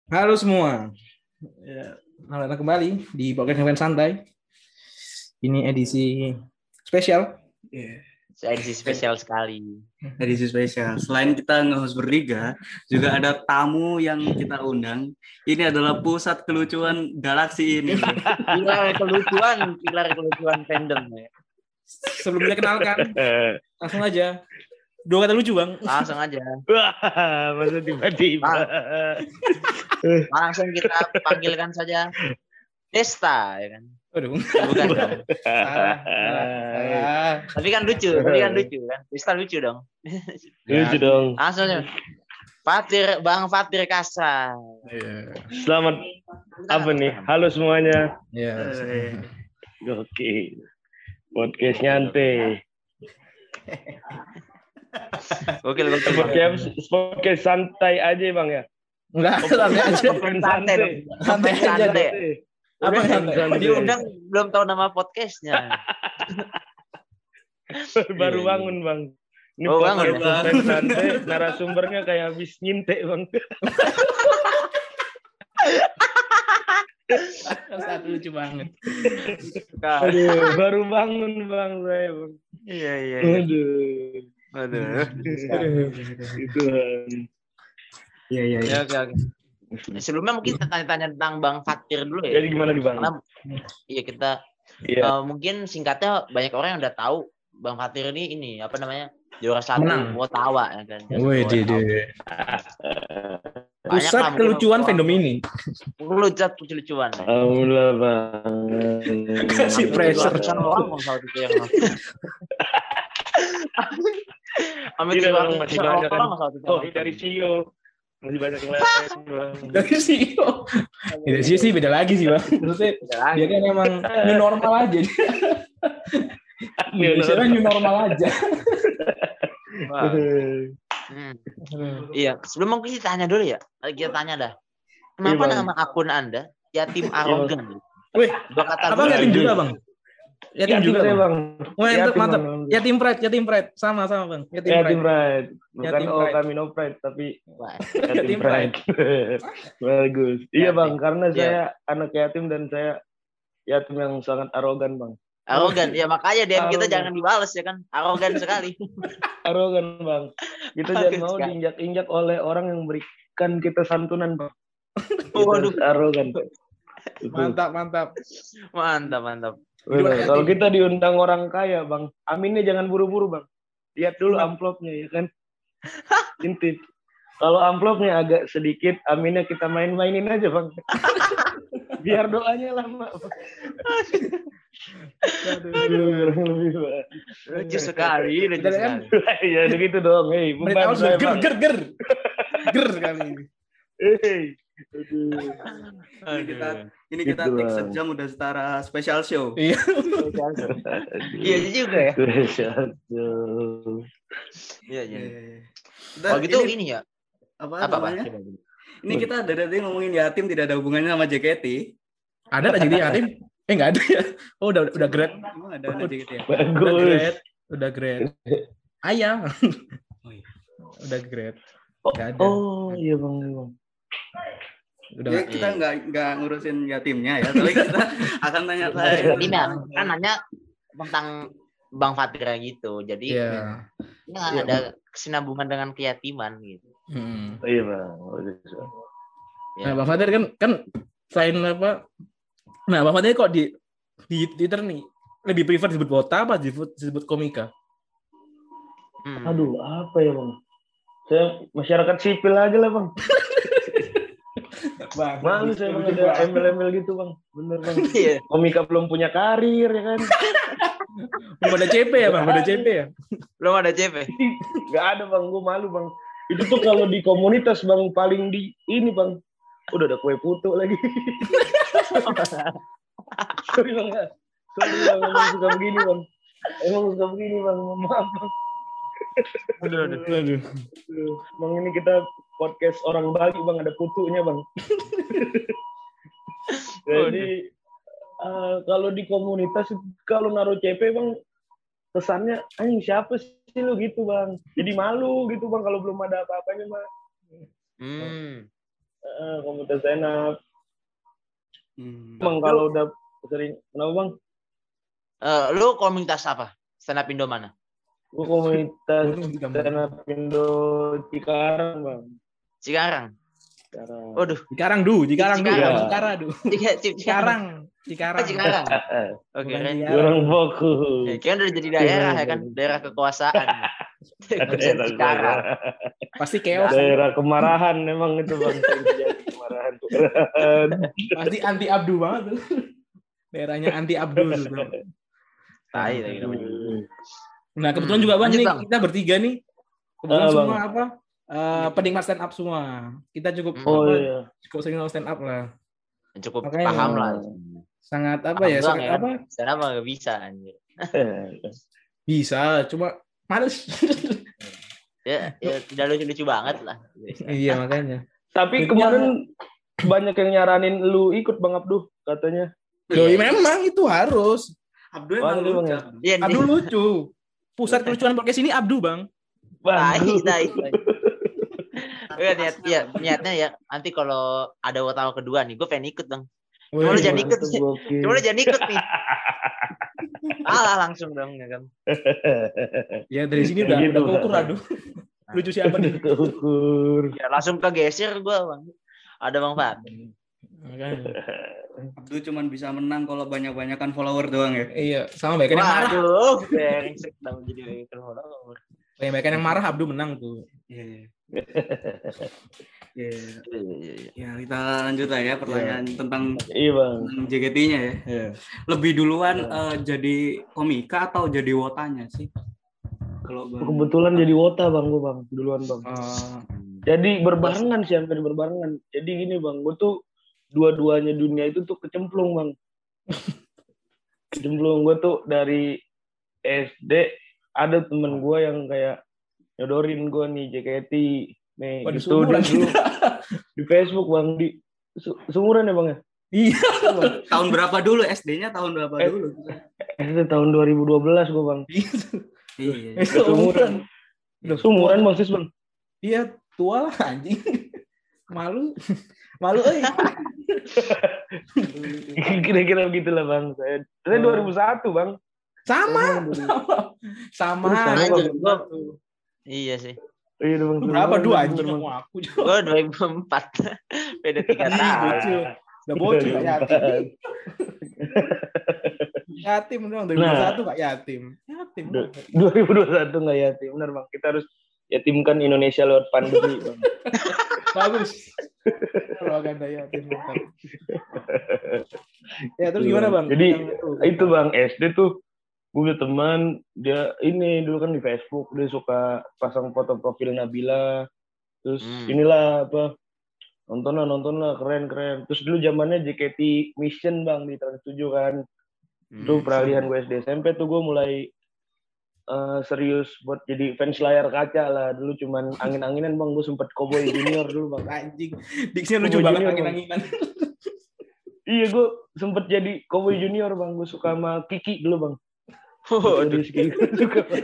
Halo semua, ya, selamat datang kembali di podcast Ngefans Santai. Ini edisi spesial. Yeah. Edisi spesial sekali. Edisi spesial. Selain kita nge-host bertiga, juga ada tamu yang kita undang. Ini adalah pusat kelucuan galaksi ini. Pilar kelucuan fandom ya. Sebelumnya kenalkan, langsung aja. Dua kata lucu bang. Langsung aja. Wah, masa tiba-tiba. Langsung kita panggilkan saja Desta, ya kan? Aduh. Bukan dong. Salah. Tapi kan lucu kan? Desta lucu dong. Lucu dong. Langsung aja. Bang Fatir Kasra. Iya. Selamat apa nih? Halo semuanya. Iya. Oke. Podcast nyantai. Oke. Podcast santai aja bang ya. Enggak, santai aja. Santai dong. Santai aja. Apa yang santai? Diundang belum tahu nama podcastnya. Baru bangun bang. Ini Bangun. podcast santai. Narasumbernya kayak habis nyintek bang. Satu lucu banget. Aduh, baru bangun bang saya bang. Iya. Aduh. Itu. Iya. Oke. Sebelumnya mungkin kita tanya-tanya tentang Bang Fatir dulu ya. Jadi gimana nih bang? Karena iya kita mungkin singkatnya banyak orang yang udah tahu Bang Fatir ini apa namanya juara satu Wotawa ya kan. Wih, pusat kelucuan fandom ini. Lucuan. Alhamdulillah bang. Kasih pressure. Orang kalau itu yang Tidak bang, masih banyak kan. Oh, dari CEO. Masih banyak yang lain bang. Dari CEO. Dari CEO sih beda lagi sih bang. Maksudnya dia kan emang new normal aja. New normal aja. Iya, sebelum mungkin kita tanya dulu ya. Kita tanya dah. Kenapa nama akun Anda Yatim Arogan? Wih, apa yatim juga bang? Yatim juga bang. Mantap. Yatim Pride. Sama bang. Yatim Pride. Bukan kami no pride tapi Yatim Pride. Bagus. Iya bang, karena saya anak yatim dan saya yatim yang sangat arogan bang. Arogan, ya makanya DM kita jangan dibales ya kan, arogan sekali. Arogan bang, kita jangan mau diinjak-injak oleh orang yang berikan kita santunan bang. Waduh, arogan. Mantap. Kalau kita diundang orang kaya bang, aminnya jangan buru-buru bang. Lihat dulu amplopnya ya kan. Intip. Kalau amplopnya agak sedikit, aminnya kita main-mainin aja bang. Biar doanya lama. Aduh. Lucu sekali. Ya begitu dong. Hei, beban saya ger kali ini. Hei. Ini kita take sejam udah setara special show. Iya. Iya juga ya. Special show. Iya. Oh gitu ini ya. Apa namanya? Ini kita dari tadi ngomongin yatim tidak ada hubungannya sama JKT. Ada tak jadi yatim? Nggak ada ya. Oh udah grade. Emang ada JKT ya? Bagus. Udah grade. Ayah. Udah grade. Nggak ada. Oh iya bang. Udah ya, kita nggak ngurusin yatimnya ya, tapi kita akan tanya-tanya. Kan nanya tentang Bang Fatir gitu. Jadi ada kesinambungan dengan keyatiman gitu. Iya bang. Nah Bang Fatir kan selain apa? Nah Bang Fatir kok di Twitter nih lebih prefer disebut Wota apa disebut komika? Aduh apa ya bang? Saya masyarakat sipil aja lah bang. Malu saya bang ada embel-embel gitu bang. Bener bang. Komika belum punya karir ya kan. Belum ada CP ya bang? Belum ada CP? Gak ada bang, gue malu bang. Itu tuh kalau di komunitas bang paling di ini bang. Udah ada kue putu lagi. Sorry bang, emang suka begini bang. Maaf bang. Aduh. Bang ini kita podcast orang Bali bang, ada putunya bang. Jadi kalau di komunitas kalau naruh CP bang kesannya siapa sih lu gitu bang. Jadi malu gitu bang kalau belum ada apa-apanya bang. Komunitas stand up. Bang kalau udah sering, kenapa bang? Lu komunitas apa? Stand up Indo mana? Gue komunitas stand up Indo Cikarang bang. Cikarang. Waduh. Cikarang du. Cikarang. Cikarang. Oke. Kurang fokus. Kan udah jadi daerah ya kan, daerah kekuasaan. Cikarang. Pasti chaos. Daerah kemarahan memang itu bang. Kemarahan. Pasti anti Abdu banget tuh. Daerahnya anti Abdu tuh. Tai lagi namanya. Nah kebetulan juga bang, nih kita bertiga nih. Kebetulan semua bang. apa? Penikmat stand up semua. Kita cukup cukup sering stand up lah. Cukup paham lah. Sangat apa ya? Sangat apa? Stand up nggak bisa anjir. Bisa, cuma males. ya tidak lucu-lucu banget lah. Iya makanya. Tapi kemarin banyak yang nyaranin lu ikut Bang Abduh katanya. Memang itu harus. Abdu emang lucu. Abdu lucu. Pusat kelucuan podcast ini Abdu bang. Tai. Niatnya ya nanti kalau ada wartawan kedua nih, gue pengen ikut bang. Cuma lu jangan ikut nih. Langsung dong ya kan. Ya dari sini udah keukur aduh. Lucu siapa nih? Keukur. Ya langsung kegeser gue bang. Ada Bang Fat. Abdu cuman bisa menang kalau banyak-banyakan follower doang ya. Iya, sama banyak yang marah. Aduh, brengsek dong jadi banyak follower. Banyak yang marah Abdu menang tuh. Iya. Ya, kita lanjut lah ya pertanyaan tentang JKT-nya ya. Yeah. Lebih duluan jadi komika atau jadi wotanya sih? Kalau kebetulan jadi wota bang, gue bang duluan bang. Jadi berbarengan sih, hampir berbarengan. Jadi gini bang, gue tuh dua-duanya dunia itu tuh kecemplung bang. Kecemplung gue tuh dari SD ada temen gue yang kayak nyodorin gue nih JKT nih gitu dulu di Facebook bang, di seumuran ya bang ya. Iya. Tahun berapa dulu SD-nya? Tahun berapa dulu? SD tahun 2012 gue bang. Iya. Seumuran bang sis bang. Iya tua lah anjing. Malu Kira-kira begitulah bang. Saya 2001 bang. Sama. Iya sih. Iya bang. Berapa dua anjing sama aku juga. Gue 2004. Beda 3 tahun. Udah bocil gak yatim. Yatim dong 2021 gak yatim. 2021 gak yatim. Benar bang. Kita harus yatimkan Indonesia lewat pandemi bang. Bagus. Propaganda yatim. Ya terus gimana bang? Jadi itu bang, SD tuh gue punya teman, dia ini dulu kan di Facebook, dia suka pasang foto profil Nabila. Terus inilah apa, nonton lah keren. Terus dulu zamannya JKT Mission bang di Trans 7 kan. Itu peralihan gue SD SMP tuh gue mulai serius buat jadi fans layar kaca lah. Dulu cuman angin-anginan bang, gue sempet Cowboy Junior dulu bang. Anjing, diksinya lucu banget angin-anginan. Iya, gue sempet jadi Cowboy Junior bang, gue suka sama Kiki dulu bang. Rizky suka bang.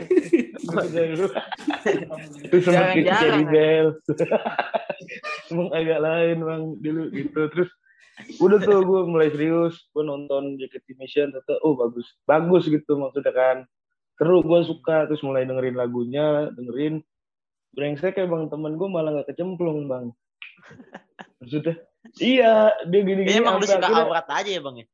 Terus sempet Kiki jadi Bel. Emang agak lain bang dulu gitu. Terus udah tuh gue mulai serius, gue nonton JKT Mission, ternyata bagus gitu maksudnya kan. Seru, gue suka. Terus mulai dengerin lagunya, brengsek kayak bang, temen gue malah gak kecemplung bang. Maksudnya iya, dia gini-gini. Emang lu suka aurat aja ya bang ya?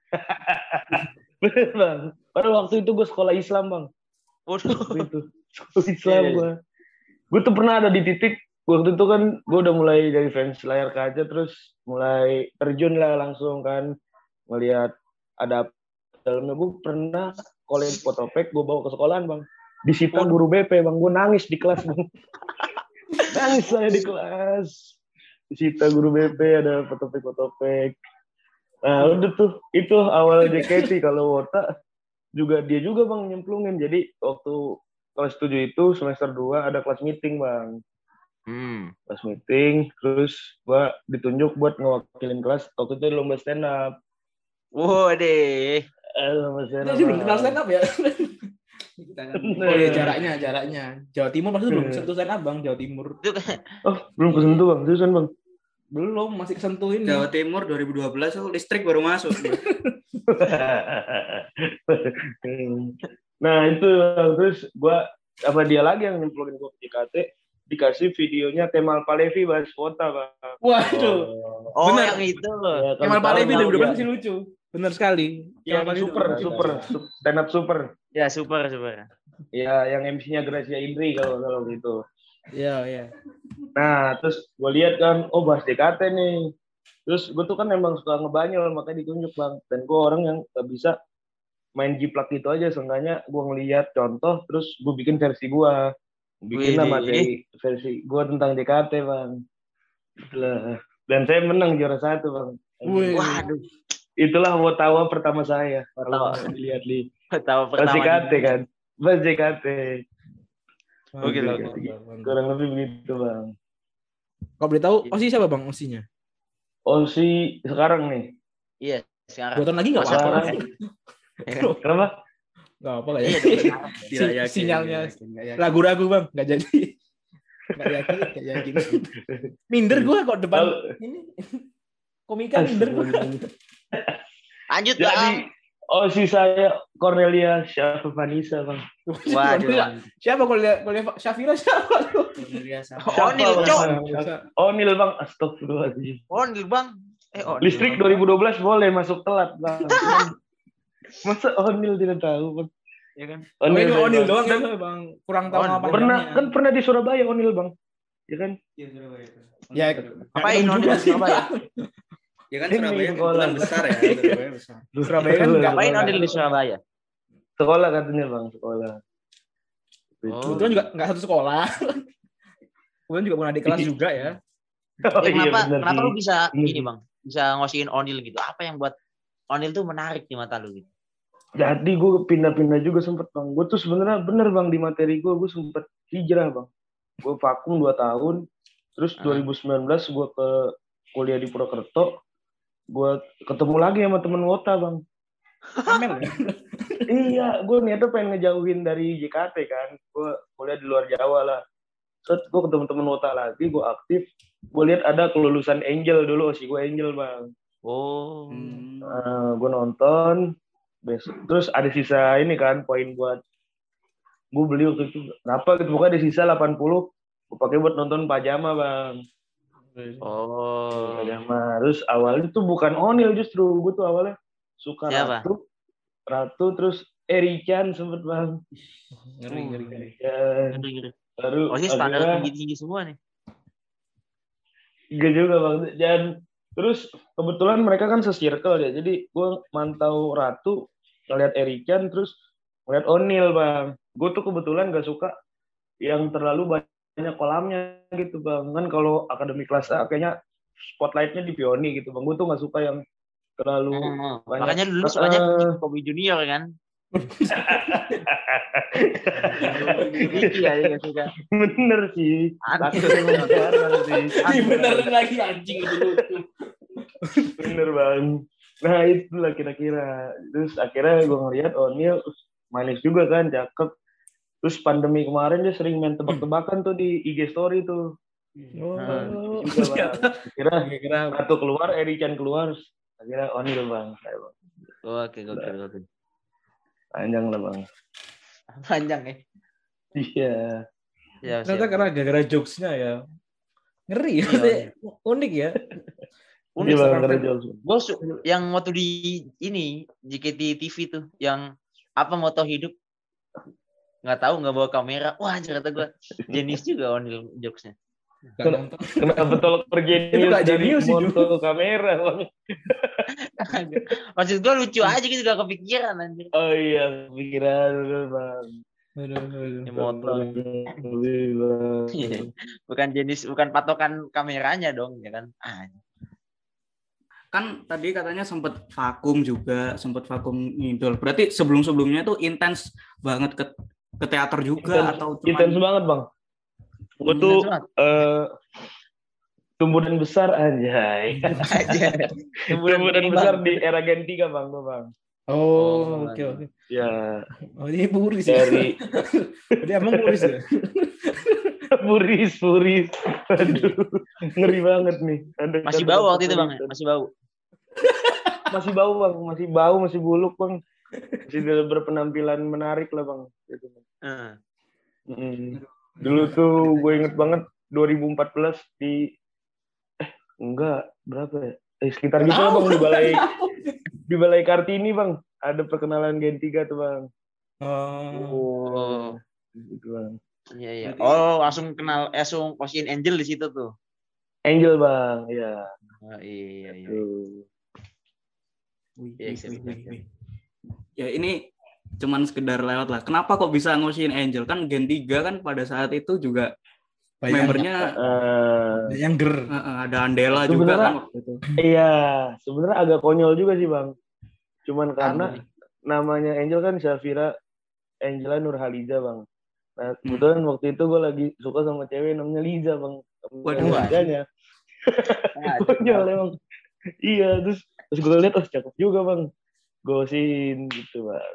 Bener bang. Pada waktu itu gue sekolah Islam bang. Waktu itu sekolah Islam gue. Gue tuh pernah ada di titik, waktu itu kan gue udah mulai dari fans layar kaca, terus mulai terjun lah langsung kan. Ngelihat ada dalamnya. Gue pernah college photopek, gue bawa ke sekolahan bang. Disita guru BP bang, gue nangis di kelas bang. Nangis saya di kelas. Disita guru BP, ada photopek. Nah udah tuh, itu awal JKT. Kalau Wota juga dia juga bang nyemplungin. Jadi waktu kelas 7 itu semester 2 ada kelas meeting bang. Kelas meeting, terus gua ditunjuk buat ngewakilin kelas. Waktu itu lomba stand up. Waduh. Lomba stand up. Jadi belum kenal stand up ya? Oh iya, jaraknya. Jawa Timur maksudnya belum sentuh stand up bang, Jawa Timur. Oh belum kesentuh bang, seriusan bang. Belum, masih kesentuh ini. Jawa Timur 2012 tuh listrik baru masuk. Nah itu terus dia lagi yang nyemplungin gue ke JKT, dikasih videonya Kemal Palevi bahas Wota, Bang. Waduh. Oh, Bener. yang itu. Ya, Kemal Palevi tahu, 2012 ya. masih lucu. Bener sekali. Yang Kemal Palevi super stand up super. Ya, super. Ya, yang MC-nya Gracia Indri kalau gitu. Iya. Nah, terus gue lihat kan, bahas JKT nih. Terus gue tuh kan emang suka ngebanyol, makanya ditunjuk, Bang. Dan gue orang yang gak bisa main jiplak gitu aja. Seenggaknya gue ngeliat contoh, terus gue bikin versi gue. Bikin lah materi versi gue tentang JKT, Bang. Dan saya menang juara 1, Bang. Waduh. Itulah Wotawa pertama saya. Kalau dilihat nih. Wotawa Pas pertama. JKT kan. Pas JKT. Oke. Kurang lebih begitu, Bang. Kalau boleh tahu, Osi siapa, Bang, Osinya? Osi sekarang nih. Iya, sekarang. 2 tahun lagi nggak apa-apa. Kenapa? Nggak apa lah ya. Tidak yakin. Sinyalnya ragu-ragu, Bang. Nggak jadi. Nggak yakin. Minder gue kok depan ini. Komika minder gue. Lanjut, Jadi Bang. Osi saya Cornelia Syafvanisa, Bang. Waduh. Siapa Cornelia Syafira siapa? Onil, Cok. Onil, Bang. Astagfirullahaladzim. Onil, Bang. Onil. Listrik 2012 boleh masuk telat, Bang. Masa Onil tidak tahu, Bang? Ya kan? Onil doang ya, Bang. Kurang tahu apa. Pernah di Surabaya Onil, Bang. Ya kan? Iya, Surabaya. Ya, Ngapain Onil di Surabaya? Ya kan Surabaya kebetulan besar ya. Surabaya besar. Surabaya kan Ngapain Onil di Surabaya? Sekolah katanya, Bang. Sekolah. Kebetulan juga nggak satu sekolah. Kebetulan juga pernah di kelas juga ya. Kenapa lu bisa ini, Bang? Bisa ngosiin Onil gitu? Apa yang buat Onil tuh menarik di mata lu gitu? Jadi gue pindah-pindah juga sempet, Bang. Gue tuh sebenarnya bener, Bang, di materi gue sempet hijrah, Bang. Gue vakum 2 tahun. Terus 2019 gue ke kuliah di Purwokerto. Gue ketemu lagi sama temen Wota, Bang. Amel ya? Iya, gue niatnya pengen ngejauhin dari JKT kan. Gue kuliah di luar Jawa lah. Terus gue ketemu temen Wota lagi, gue aktif. Gue lihat ada kelulusan Angel dulu, Osi gue Angel, Bang. Oh. Gue nonton. Terus ada sisa ini kan, poin buat gue beli waktu itu. Berapa gitu, pokoknya ada sisa 80. Gue pakai buat nonton Pajama, Bang. Oh. Pajama. Terus awalnya tuh bukan Onil justru. Gue tuh awalnya suka Siapa? Ratu terus Erichan sempet, Bang. Ngeri. Ya, baru Oh, sih standar tinggi-tinggi semua nih. Enggak juga, Bang. Dan terus kebetulan mereka kan se-circle ya. Jadi gue mantau Ratu, ngeliat Erichan, terus ngeliat Onil, Bang. Gue tuh kebetulan gak suka yang terlalu banyak kolamnya gitu, Bang. Kan kalau akademi kelas A kayaknya spotlightnya di Pioni gitu, Bang. Gue tuh gak suka yang terlalu banyak. Makanya dulu soalnya Kobe Junior kan. Iya, suka. Bener sih. Bener lagi anjing dulu. Bener, Bang. Nah itulah kira-kira. Terus akhirnya gue ngeliat Onil manis juga kan, cakep. Terus pandemi kemarin dia sering main tebak-tebakan tuh di IG story tuh. Kira Ratu keluar, Erichan keluar. Akhirnya Onil, Bang. Oke. Panjang lah, Bang. Panjang ya. Iya. Ya, ternyata karena gara-gara jokesnya ya. Ngeri ya. Unik ya. Unik gara-gara jokes. Gue yang waktu di ini JKT TV tuh yang apa moto hidup nggak tahu, nggak bawa kamera. Wah, ternyata gue jenius juga Onil jokesnya. Kenapa tolak perjenius itu gak dari jenius sih, moto kamera, Bang? Maksud gue lucu aja gitu, gak kepikiran anjir. Oh iya, pikiran, Bang. Motor. Bukan jenis, bukan patokan kameranya dong, ya kan? Kan tadi katanya sempat vakum ngidol. Berarti sebelum-sebelumnya tuh intens banget ke teater juga atau cuman... Intens banget, Bang. Gue tuh tumbuh dan besar, anjay. Tumbuh dan besar di era Gen 3, Bang. Oh, oke. Ya. Oh, ini Puris ya? Dia emang Puris ya? Puris. Aduh, ngeri banget nih. Masih bau waktu itu Bang, ya? Masih bau. Masih bau Bang, masih buluk Bang. Masih berpenampilan menarik lah Bang. Gitu. Dulu tuh gue inget banget 2014 enggak berapa ya? Sekitar gitu lah Bang di Balai Kartini Bang. Ada perkenalan Gen 3 tuh Bang. Oh. Gitu Bang. Iya. Oh, langsung kenal langsung Ocean Angel di situ tuh. Angel Bang, ya. Oh, iya. Ya ini cuman sekedar lewat lah. Kenapa kok bisa ngosiin Angel? Kan Gen 3 kan pada saat itu juga membernya yang ada Andela juga kan waktu itu. Iya, sebenarnya agak konyol juga sih Bang. Cuman karena namanya Angel kan Syafira Angela Nurhaliza Bang. Nah, kebetulan waktu itu gue lagi suka sama cewek namanya Liza Bang. Waduh. Lizanya. Konyol emang. Iya, terus gue lihat cakep juga Bang. Gosin gitu Bang.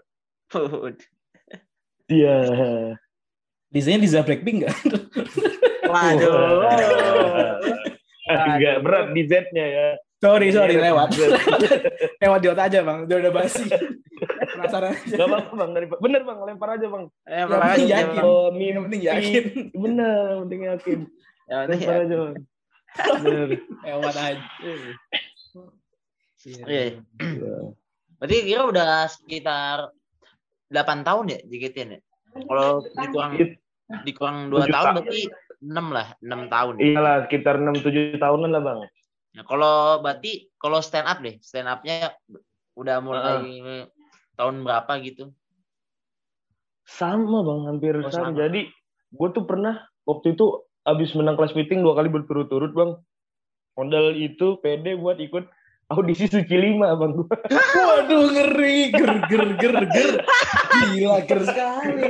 Iya. Lizanya Liza Blackpink nggak? Waduh. Enggak berat di Z-nya ya. Sorry lewat. Lewat di otak aja Bang, udah basi. Penasaran aja. Gak apa-apa Bang, bener Bang, lempar aja Bang. Yang penting yakin. Yang penting yakin. Bener, yang penting yakin. Lempar aja Bang. Bener. Lewat aja. Iya. Berarti kira udah sekitar 8 tahun ya JKT ya? Kalau dikurang 2 tahun berarti 6 tahun. Iyalah, sekitar 6-7 tahunan lah Bang. Nah, kalau berarti kalau stand up-nya udah mulai tahun berapa gitu? Sama Bang, hampir sama. Jadi gue tuh pernah waktu itu abis menang kelas meeting 2 kali berturut-turut Bang. Modal itu pede buat ikut audisi Suci 5 Bang. Waduh, ngeri, ger. Gila, ger sekali.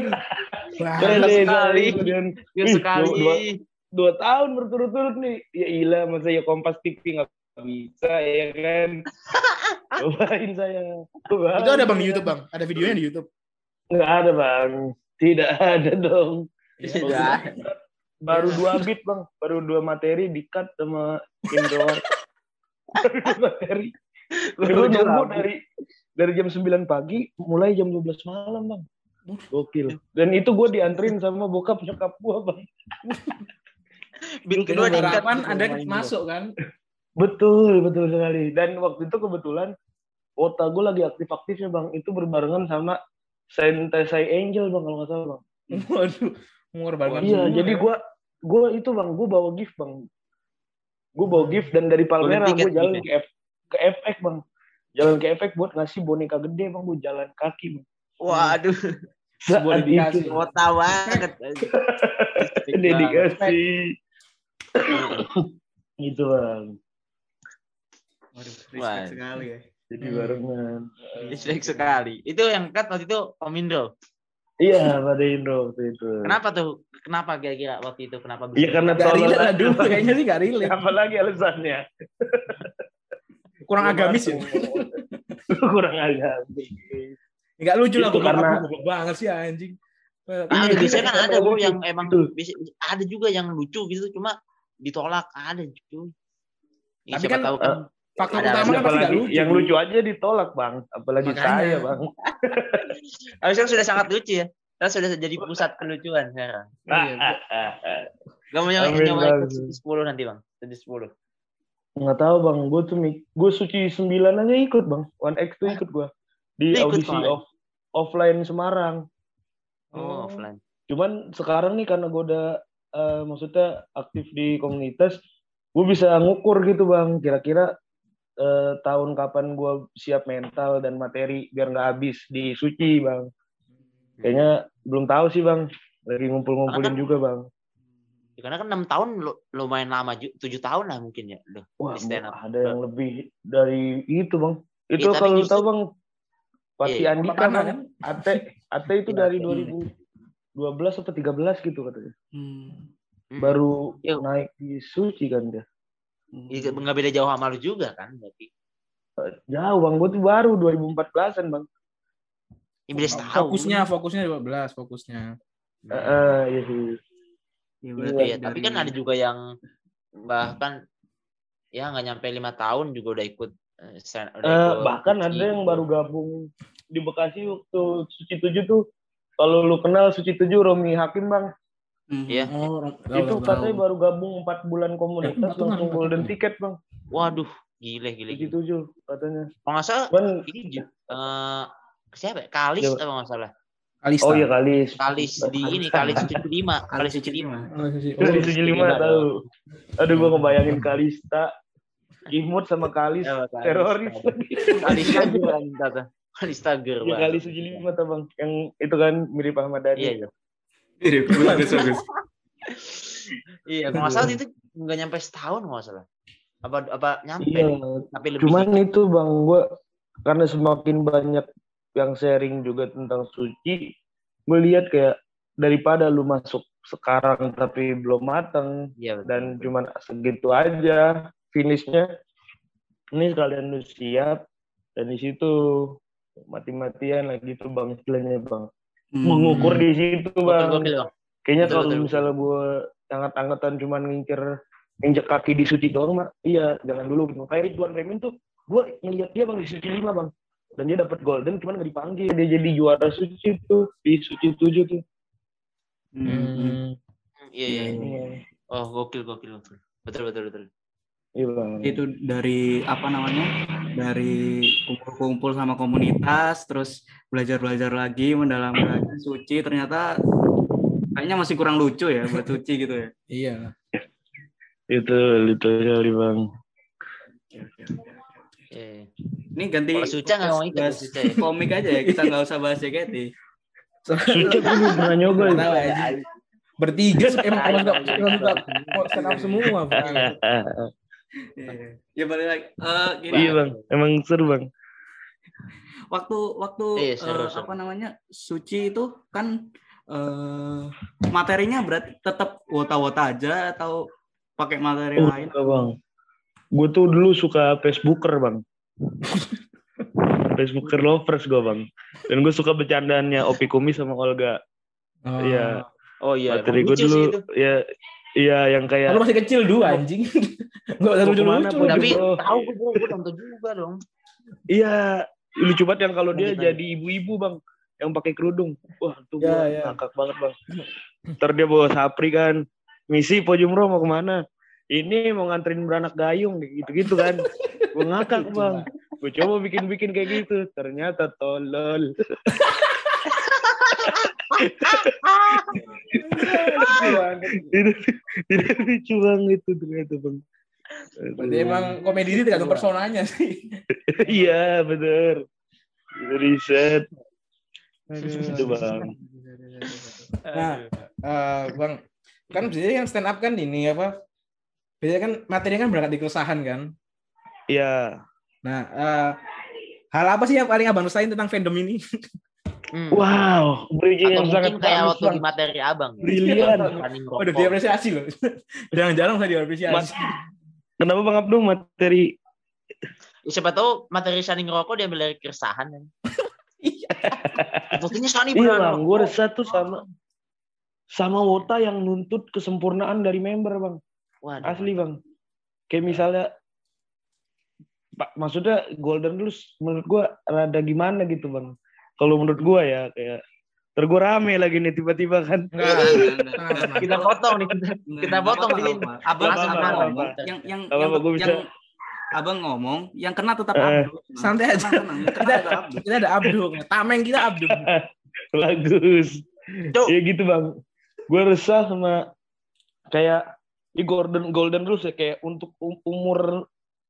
Sekali. 2 tahun berturut-turut nih. Ya ilah, masa ya Kompas TV nggak bisa ya kan. Cobain saya. Itu ada Bang di YouTube Bang? Ada videonya di YouTube? Nggak ada Bang. Tidak ada dong. Tidak. Baru 2 beat Bang. Baru 2 materi di-cut sama Indro. Baru 2 materi. Gue nunggu dari jam 9 pagi mulai jam 12 malam Bang. Gokil. Dan itu gue dianterin sama bokap nyokap gue Bang. Beat kedua harapan Anda masuk kan? Betul sekali. Dan waktu itu kebetulan kota gue lagi aktif-aktifnya Bang. Itu berbarengan sama Sentesai Angel Bang kalau nggak salah Bang. Waduh, mengorbankan. Iya, jadi gue itu Bang, gue bawa gift Bang. Gue bawa gift dan dari Palmera gue jalan ke FX Bang. Jalan ke FX buat ngasih boneka gede Bang, gue jalan kaki Bang. Waduh. Sebuah dedikasi. Kota banget. Dedikasi. Gitu Bang. Waduh, respect sekali ya. Jadi barengan. Respect sekali. Itu yang cut waktu itu Om Indro. Iya, pada Indro waktu itu. Kenapa tuh? Kenapa kira-kira waktu itu? Kenapa bisa? Iya karena gak relate lah dulu. Kayaknya sih gak relate. Apalagi alasannya. Kurang agamis ya? Kurang agamis. Gak lucu lah. Karena goblok banget sih anjing. Biasanya kan ada Bu yang emang ada juga yang lucu gitu. Cuma ditolak. Ada cuy. Tapi kan tahu kan faktor utama kan pasti gak lucu. Yang lucu aja ditolak Bang. Apalagi saya Bang. Harusnya sudah sangat lucu ya. Kita sudah jadi pusat kelucuan sekarang. Gak mau nyoba ikut 10 nanti Bang. 10. Nggak tahu Bang. Gue Suci 9 aja ikut Bang. 1X tuh ikut gue. Di audisi offline Semarang. Oh, offline. Cuman sekarang nih karena gue udah maksudnya aktif di komunitas, gue bisa ngukur gitu Bang. Kira-kira tahun kapan gue siap mental dan materi biar nggak habis di Suci Bang. Kayaknya belum tahu sih Bang. Lagi ngumpul-ngumpulin juga Bang. Karena kan 6 tahun lumayan lama, 7 tahun lah mungkin ya. Wah, ada yang lebih dari itu Bang. Itu ya, kalau tahu Bang, Pati Andika kan, Ate itu dari 2012 atau 13 gitu katanya. Baru naik di Suci kan dia. Nggak beda jauh sama lu juga kan berarti. Jauh Bang, gue tuh baru 2014an Bang. Fokusnya 12 fokusnya. Iya sih. Ya, Iya, tapi kan ada juga yang bahkan ya nggak nyampe 5 tahun juga udah ikut Bahkan Suci ada yang gitu. baru gabung di Bekasi waktu Suci 7 tuh. Kalau lu kenal Suci 7, Romi Hakim bang. Iya. Itu katanya baru gabung 4 bulan komunitas langsung golden ticket bang. Waduh, gile. Suci 7 katanya. Kalau nggak salah Cuman, ini siapa ya? Kalis apa nggak salah? Kalista. oh iya Kalis. Kalis di ini Kalis 75. Kalis 75. Kalis 75 tahu. Aduh gua ngebayangin Kalista, Imut sama Kalis teroris. Kalista juga Kalista ger. Ya Kalis 75 tuh bang. Yang itu kan mirip Ahmad Dhani. Iya. Mirip, bagus. Iya, kalau nggak salah itu nggak nyampe setahun nggak salah. Apa nyampe? Iya. Tapi lebih. Cuman itu bang, gue karena semakin banyak yang sharing juga tentang Suci, gue lihat kayak daripada lu masuk sekarang tapi belum matang, Iya, betul, dan betul. cuman segitu aja finishnya, ini sekalian lu siap, dan di situ mati-matian lagi tuh bang istilahnya bang, mengukur di situ bang. Betul. Kayaknya Betul, kalau betul. misalnya gue angkat-angkatan cuman nginjek kaki di Suci doang mah, iya jangan dulu gitu. Kayak Ridwan Remin tuh, gue ngeliat dia bang di Suci 5 bang, dan dia dapat golden cuman nggak dipanggil, dia jadi juara Suci tuh di Suci 7 tuh. Iya. Oh, gokil. Betul. Iya bang. Itu dari apa namanya? Dari kumpul-kumpul sama komunitas, terus belajar lagi, mendalami lagi Suci, ternyata kayaknya masih kurang lucu ya buat Suci gitu ya. Iya. Itu sekali bang. Iya. Ini ganti Kalau Suca nggak mau ikut bahas Suca ya. komik aja ya, kita nggak usah bahas JKT. Suci gue belum pernah nyoba. Nggak tahu aja. Bertiga emang stand up semua. Ya balik lagi. Gini, Iya bang, emang seru bang. waktu seru. apa namanya Suci itu kan materinya berarti tetap wota-wota aja atau pakai materi lain? Enggak bang, gue tuh dulu suka Facebooker bang. Facebooker lovers gue bang, dan gue suka bercandaannya Opi Kumis sama Olga. Iya. Oh iya. Materi gue dulu ya, iya yang kayak. Kalau masih kecil dua anjing. Enggak usah lucu-lucu. Tapi tahu gue nonton juga dong. Iya, lucu banget yang kalau dia jadi ibu-ibu bang, yang pakai kerudung. Wah, tuh gue ngakak banget bang. Ntar dia bawa Sapri kan, misi Pojumro mau kemana? Ini mau nganterin beranak gayung, gitu-gitu kan. Gue ngakak bang. Gue coba bikin kayak gitu, ternyata tolol. Tidak lucu banget itu ternyata bang. Berarti emang komedi ini tergantung personanya sih. Iya bener. Riset. Itu bang. Nah, bang, kan biasanya kan stand up kan ini apa? Biasanya kan materinya kan berangkat di keresahan kan? Iya. Nah, hal apa sih yang paling abang rasain tentang fandom ini? Wow, bridging yang sangat kayak waktu di materi abang. Brilian. Udah diapresiasi loh. Jarang-jarang saya diapresiasi. Kenapa Bang Abdul materi? Siapa tahu materi Sani ngerokok diambil dari keresahan kan? Buktinya Sani iya bang, gue resah tuh sama Wota yang nuntut kesempurnaan dari member bang. Waduh. Asli bang. Kayak misalnya, maksudnya Golden dulu menurut gue rada gimana gitu bang. Kalau menurut gue ya kayak gue rame lagi nih tiba-tiba kan. Kita potong nih. Kita potong nih. Abang yang abang ngomong, yang kena tetap Abdul. Santai aja. Kita ada Abdul. Tameng kita Abdul. Bagus. Ya gitu bang. Gue resah sama kayak di Golden Rules ya, kayak untuk umur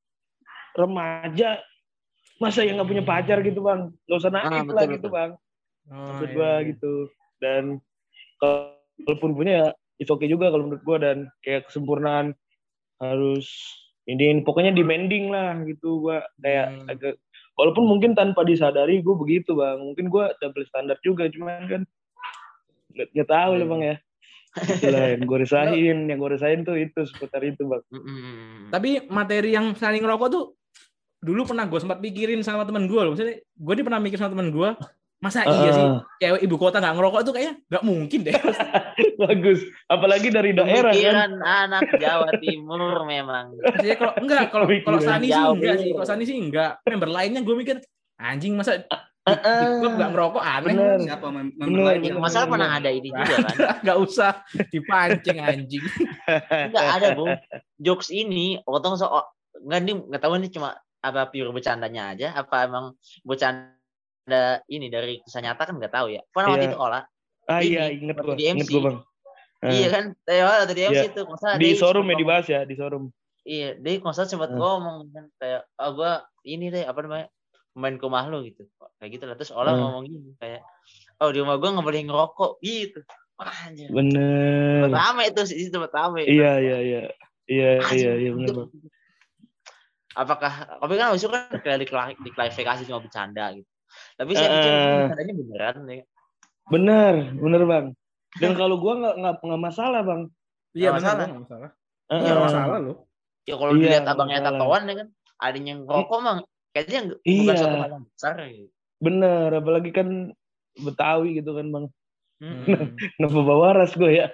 remaja masa yang nggak punya pacar gitu bang, nggak usah naif lah gitu bang. Maksud gue gitu. Dan kalaupun punya ya it's okay juga kalau menurut gue, dan kayak kesempurnaan harus ini pokoknya demanding lah gitu. Gue kayak agak, walaupun mungkin tanpa disadari gue begitu bang, mungkin gue double standar juga, cuman kan nggak tahu lah bang ya. Itulah yang gue resahin tuh itu seputar itu bang. Tapi materi yang saling ngerokok tuh dulu pernah gue sempat pikirin sama teman gue loh. Maksudnya gue pernah mikir sama teman gue, Masa iya sih cewek ibu kota nggak ngerokok tuh kayaknya nggak mungkin deh. Bagus. Apalagi dari daerah kan. Pemikiran anak Jawa Timur memang. Maksudnya kalau Pemikiran Sani sih jauh. enggak sih. Kalau Sani sih enggak. Member lainnya gue mikir anjing masa di klub nggak ngerokok aneh. Bener. Siapa member Bener, lain Ya, yang masalah pernah ada ini juga kan. Nggak usah dipancing anjing. Enggak ada, Bung. Jokes ini potong nggak tahu ini cuma apa pure bercandanya aja apa emang bercanda ini dari kisah nyata kan nggak tahu ya. Pernah waktu Iya. itu olah. Iya, Ini, inget waktu gua. di MC. Inget gua, Bang. Iya kan? Waktu di MC Iya. itu masa Di showroom ya dibahas ya, di showroom. Iya, dia konser sempat ngomong kan kayak gue ini deh apa namanya main ke rumah lu gitu kayak gitu lah terus orang ngomong gini kayak di rumah gue nggak boleh ngerokok gitu. Wah, anjir. Bener. Rame itu sih tempat rame. Iya bener, Bang. Apakah tapi kan habis itu kan kayak diklarifikasi cuma bercanda gitu. Tapi saya pikir bercandanya beneran ya. Bener Bang. Dan kalau gua nggak masalah Bang. Iya Nggak benar masalah. nggak masalah. Iya, Nggak masalah loh. Ya kalau Iya, dilihat nggak abangnya masalah. tatoan ya kan adanya yang ngerokok mah kayaknya bukan Iya. suatu hal yang besar gitu. Bener, apalagi kan Betawi gitu kan Bang. Hmm. Kenapa bawa ras gue ya?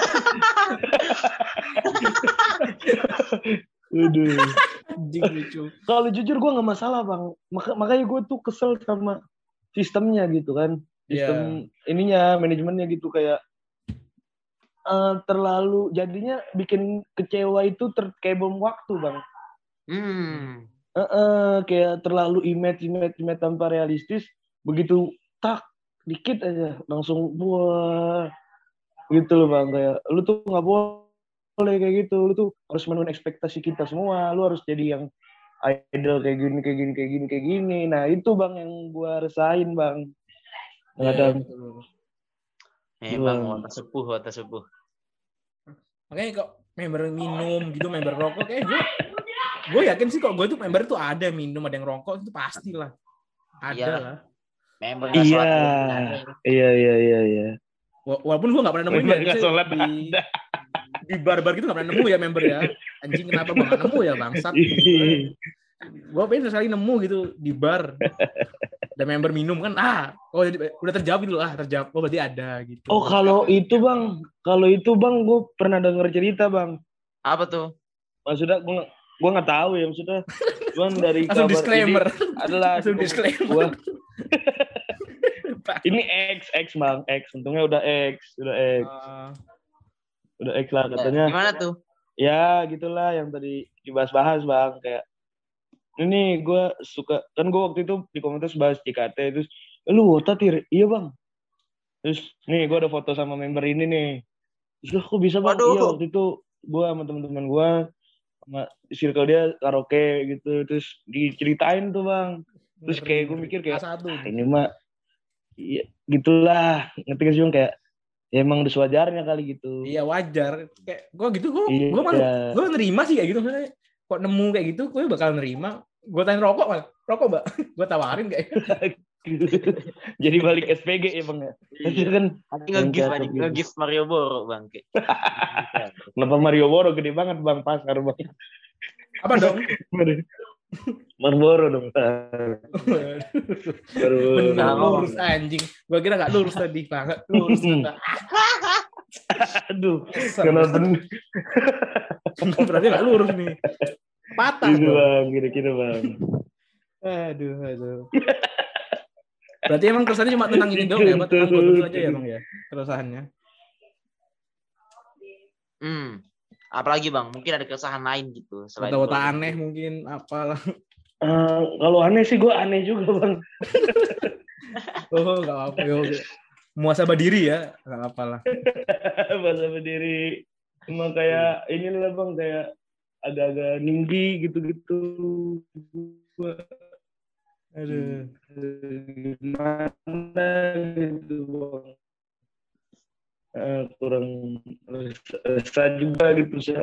Aduh. Anjing lucu. Kalau jujur gue nggak masalah Bang. Makanya gue tuh kesel sama sistemnya gitu kan. Sistem ininya, manajemennya gitu kayak terlalu jadinya bikin kecewa itu kayak bom waktu Bang. Kayak terlalu image tanpa realistis, begitu tak dikit aja langsung wah gitu loh Bang, kayak lu tuh nggak boleh kayak gitu, lu tuh harus memenuhi ekspektasi kita semua, lu harus jadi yang idol kayak gini. Nah itu Bang yang gua resahin Bang. Kadang Memang watak sepuh. Makanya kok member minum gitu, member rokok kayak gue yakin sih kok gue tuh member tuh ada minum, ada yang rokok itu pastilah. Ada Iyalah. lah. Member nggak sholat Iya. Walaupun gue nggak pernah nemuin Member ya, nggak sholat di bar-bar gitu nggak pernah nemu ya member ya. Anjing kenapa gue nggak nemu ya bangsat. Gue pengen sekali nemu gitu di bar. Ada member minum kan, udah terjawab gitu terjawab. Oh berarti ada gitu. Oh kalau itu bang, gue pernah denger cerita Bang. Apa tuh? Maksudnya gue nggak tahu ya maksudnya. Cuman dari langsung kabar disclaimer. ini adalah Langsung disclaimer. Ini X Bang, untungnya udah X. Udah X lah katanya. Gimana tuh? Ya gitulah yang tadi dibahas-bahas Bang, kayak ini gue suka kan, gue waktu itu di komunitas bahas JKT, terus lu wota Tir? Iya Bang. Terus nih gue ada foto sama member ini nih. Terus kok bisa Bang? Waduh. Iya waktu itu gue sama teman-teman gue sama circle dia karaoke gitu, terus diceritain tuh Bang. Terus kayak gue mikir kayak ini mah iya gitulah, ngerti gak sih Bang, kayak ya emang udah sewajarnya kali gitu. Iya wajar. Kayak gue gitu, gue nerima sih kayak gitu. Maksudnya kok nemu kayak gitu, gue bakal nerima. Gue tanya rokok Mbak. Gue tawarin kayak. Jadi balik SPG ya Bang ya. Iya. Kan nge-gift Mario Boro Bang. Kenapa Mario Boro gede banget Bang, pasar Bang. Apa dong? Marlboro dong. Benar lurus anjing. Gue kira nggak lurus tadi banget. Lurus. Aduh. Kenapa? Berarti nggak lurus nih. Patah. Gitu Bang, kira-kira Bang. Aduh. Berarti emang keresahannya cuma tentang ini dong ya? Tentang gue aja ya Bang ya? Keresahannya. Apalagi Bang, mungkin ada keresahan lain gitu selain Wota aneh mungkin apalah. Kalau aneh sih gue aneh juga Bang. Oh nggak apa-apa yo. Muasabah diri ya, nggak apa lah. Muasabah diri. Emang kayak inilah Bang, kayak agak-agak ninggi gitu-gitu. Aduh. Gimana gitu Bang. Kurang resah juga gitu sih.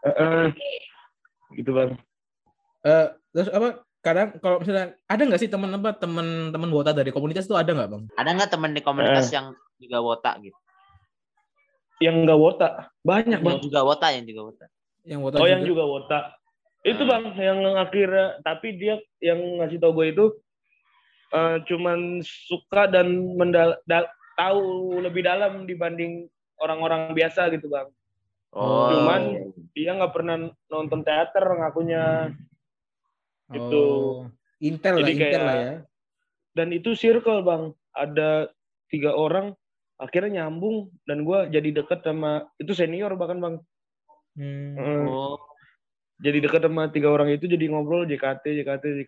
Gitu Bang. Terus apa? Kadang kalau misalnya ada nggak sih teman wota dari komunitas itu ada nggak Bang? Ada nggak teman di komunitas yang juga wota gitu? Yang nggak wota banyak Bang. Yang juga wota. Yang wota yang juga wota. Itu Bang yang akhirnya, tapi dia yang ngasih tau gue itu cuman suka dan tahu lebih dalam dibanding orang-orang biasa gitu bang. Oh. Cuman dia nggak pernah nonton teater ngakunya. Gitu. Intel lah, Jadi Intel kayak- lah ya. Dan itu circle bang, ada 3 orang akhirnya nyambung dan gue jadi deket sama itu senior bahkan bang. Oh. Jadi deket sama 3 orang itu, jadi ngobrol JKT.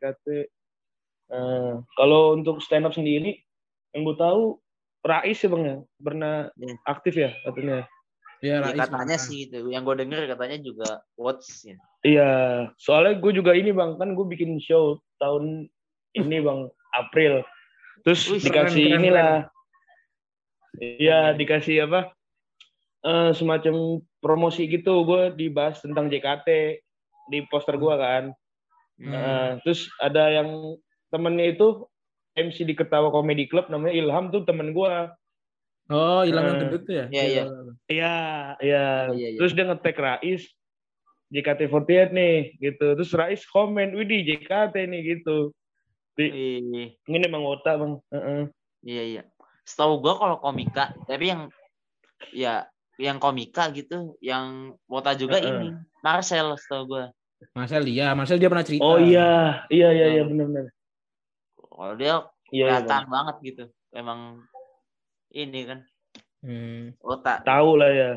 Kalau untuk stand up sendiri yang gue tahu Rais ya bang ya, pernah aktif ya katanya. Ya, Ya, Rais katanya mana. sih gitu. Yang gue denger katanya juga Watts ya. Iya, soalnya gue juga ini bang, kan gue bikin show tahun ini bang, April. Terus Wih, dikasih keren. inilah, iya dikasih apa? Semacam promosi gitu, gue dibahas tentang JKT di poster gue kan. Terus ada yang temennya itu MC di Ketawa Comedy Club namanya Ilham tuh temen gue. Oh, Ilham yang gendut tuh ya? Iya. Iya. Terus dia nge-tag Rais JKT48 nih gitu. Terus Rais komen, "Widih JKT nih" gitu. Ini emang otak bang. Iya. Setahu gue kalau komika, tapi yang komika gitu, yang wota juga ini Marcel setahu gue. Marcel dia pernah cerita. Oh iya benar. Kalau dia kelihatan banget gitu, emang ini kan otak. Tahu lah ya.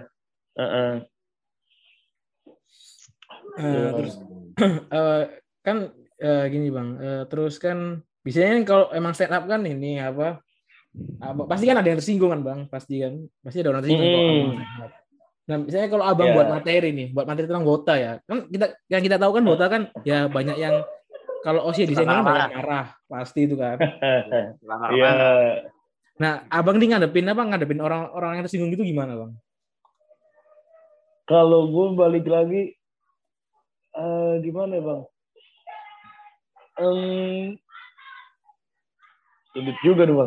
Terus kan gini bang, terus kan biasanya kalau emang stand up kan ini apa pasti kan ada yang tersinggung kan bang, pasti ada orang tersinggung kalau abang stand up. Nah misalnya kalau abang buat materi tentang Wota ya, kan kita tahu kan Wota kan ya banyak yang kalau Osi disenggol banyak yang marah pasti itu kan. Iya. Nah abang nih ngadepin orang yang tersinggung gitu gimana bang? Kalau gue balik lagi gimana bang? Sulit juga nih bang.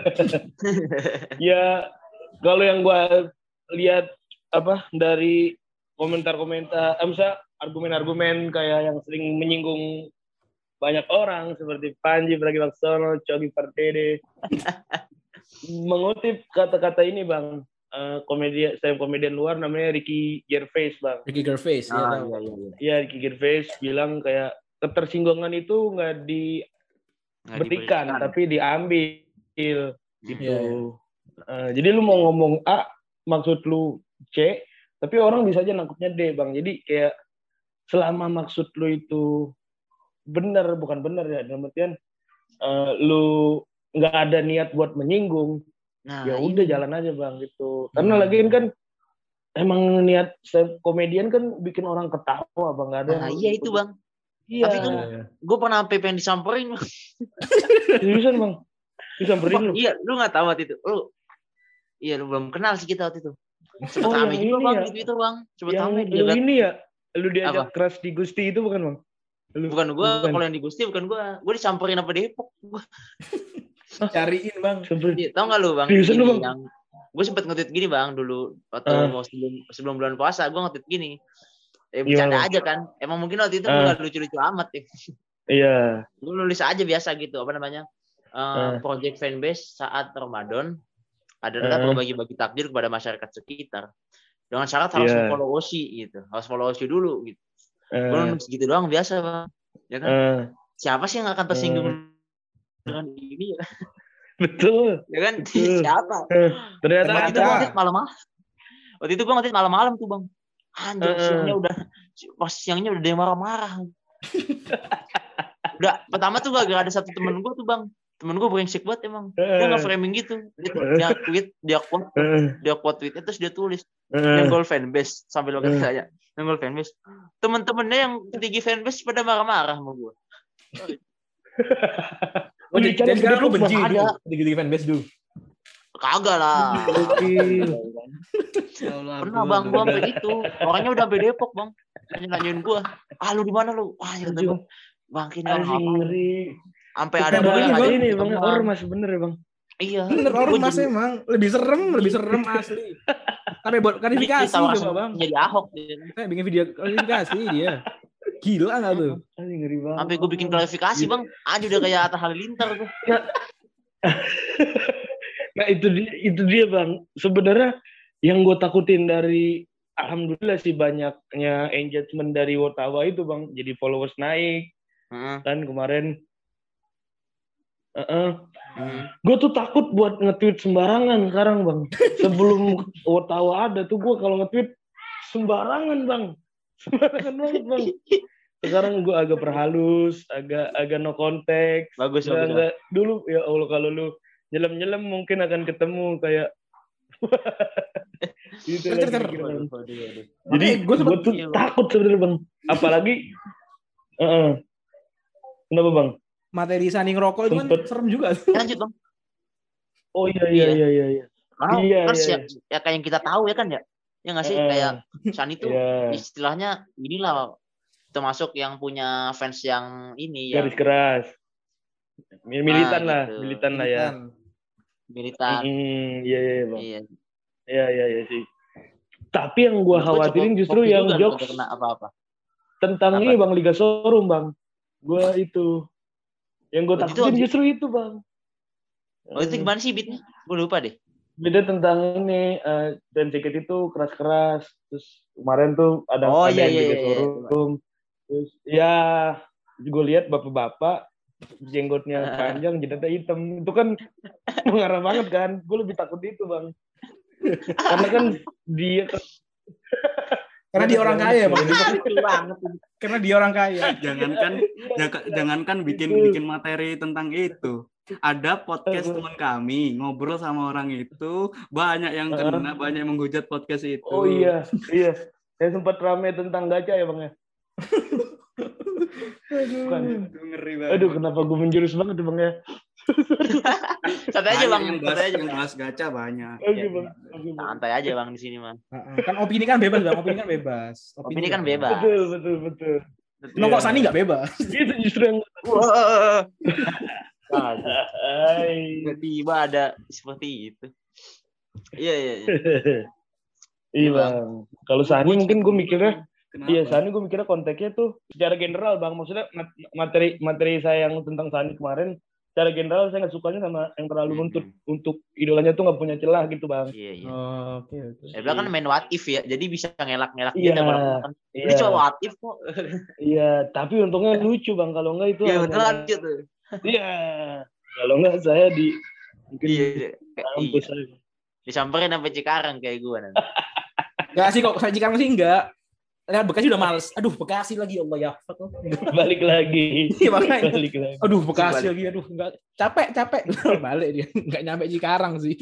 Ya kalau yang gue lihat dari komentar-komentar, misalnya argumen-argumen kayak yang sering menyinggung banyak orang seperti Panji Pragiwaksono, Cogi Pardede, mengutip kata-kata ini bang, komedian luar namanya Ricky Gervais bang. Ricky Gervais ya. Iya Ricky Gervais bilang kayak ketersinggungan itu nggak diberikan tapi diambil gitu. Jadi lu mau ngomong A maksud lu C tapi orang bisa aja nangkepnya D bang. Jadi kayak selama maksud lu itu bukan benar ya, dalam artian lu nggak ada niat buat menyinggung, ya udah jalan aja bang gitu. Karena lagian kan emang niat komedian kan bikin orang ketawa bang, nggak ada. Iya itu bang. Iya. Tapi kan gue pernah sampai pengen disamperin bang. Seriusan bang? Disamperin lu? Iya, lu nggak tahu waktu itu. Lu belum kenal sih kita waktu itu. Sebut Ame juga bang di Twitter bang. Sebut Ame dia. Yang ini ya? Lu diajak keras di Gusti itu bukan bang? Bukan gue, kalau yang di Gusti bukan gue. Gue disamperin apa Depok. Cariin bang. Tahu nggak lu bang? Seriusan lu bang? Gue sempet nge-tweet gini bang dulu waktu sebelum bulan puasa gue nge-tweet gini. Bercanda aja kan. Emang mungkin waktu itu gue gak lucu-lucu amat ya. Iya. Gue nulis aja biasa gitu. Apa namanya? Project fanbase saat Ramadan adalah berbagi-bagi takdir kepada masyarakat sekitar. Dengan syarat harus follow Osi gitu. Harus follow Osi dulu gitu. Gue nulis gitu doang biasa bang. Ya kan? Siapa sih yang akan tersinggung dengan ini ya? Betul. Ya kan? Siapa? Ternyata waktu itu gue ngetit malam-malam tuh bang. Anjir, siangnya udah dia marah-marah. Udah, pertama tuh gak ada satu temen gue tuh bang. Temen gue brengsek banget emang. Dia nge-framing gitu. Dia quote tweetnya terus dia tulis Nenggol fanbase sambil lo katanya. Nenggol fanbase. Temen-temennya yang tinggi fanbase pada marah-marah sama gue. Jadi sekarang lu benci tinggi fanbase dulu. Kagak lah. Pernah bang gue sampai itu. Orangnya udah sampai Depok bang. Nanyain gue. Lu di mana lu? Wah ya kata gue. Bang kini orang apa? Sampai ada yang ini bang ormas bener ya bang. Iya. Bener ormas emang. Lebih serem asli. Sampai buat klarifikasi coba bang. Jadi Ahok. Bikin video klarifikasi dia. Gila nggak tuh? Ngeri banget. Sampai gue bikin klarifikasi bang, aja udah kayak Atta Halilintar tuh. Nah itu dia bang. Sebenarnya yang gue takutin dari alhamdulillah sih banyaknya engagement dari Wotawa itu bang. Jadi followers naik kan kemarin. Gue tuh takut buat nge-tweet sembarangan sekarang bang. Sebelum Wotawa ada tuh gue kalau nge-tweet sembarangan bang. Sembarangan banget bang. Sekarang gue agak perhalus, agak no konteks. Bagus. Dulu ya Allah kalau lu nyelam mungkin akan ketemu kayak gitu lagi. Jadi gue tuh takut sebenarnya bang. Apalagi kenapa bang? Materi Sani ngerokok itu kan serem juga. Lanjut bang. Oh iya. Kan ya kayak yang kita tahu ya kan ya. Ya nggak sih kayak Sani tuh istilahnya inilah termasuk yang punya fans yang ini garis keras. Militan lah, gitu. militan lah ya. Militan. Iya bang. Iya sih. Tapi yang gue khawatirin justru yang jokes kena apa-apa. Tentang ini bang Liga Showroom bang. Gue itu yang gue takutin justru itu bang. Oh itu gimana sih beatnya? Gue lupa deh. Beda tentang ini dan jaket itu keras-keras. Terus kemarin tuh ada Liga Showroom. Terus ya gue lihat bapak-bapak jenggotnya panjang, jidatnya hitam. Itu kan mengarah banget kan. Gue lebih takut itu bang. Karena kan dia karena dia orang kaya bang. Karena dia orang kaya. Jangankan bikin materi tentang itu. Ada podcast teman kami ngobrol sama orang itu, banyak yang kena, banyak yang menghujat podcast itu. Oh iya. Saya sempat rame tentang gacha ya bang ya. Ngeri banget. Aduh, kenapa gue menjurus banget bang ya? Santai aja bang. Yang bahas gacha banyak. Oke bang. Santai aja bang di sini bang. Kan opini kan bebas bang. Opini kan bebas. Betul. Kok Sani nggak bebas? Itu justru yang. Tiba-tiba ada seperti itu. Iya. Iya bang. Kalau Sani mungkin gue mikirnya. Iya, Sani gue mikirnya konteksnya tuh secara general bang. Maksudnya materi saya yang tentang Sani kemarin, secara general saya nggak sukanya sama yang terlalu nuntut untuk idolanya tuh nggak punya celah gitu bang. Iya. Oke. Saya bilang kan main what if ya, jadi bisa ngelak-ngelak gitu. Ini cuma what if kok. Iya, tapi untungnya lucu bang. Kalau nggak itu. Iya betul lanjut tuh. Iya, kalau nggak saya mungkin kampus disamperin sampai Cikarang kayak gue nanti. Nggak sih kok, saya Cikarang sih enggak. Lihat Bekasi udah males. Aduh, Bekasi lagi Allah ya. Balik lagi. Iya makanya. Aduh, Bekasi lagi. Aduh, enggak capek. Balik dia. Enggak nyampe Cikarang sih.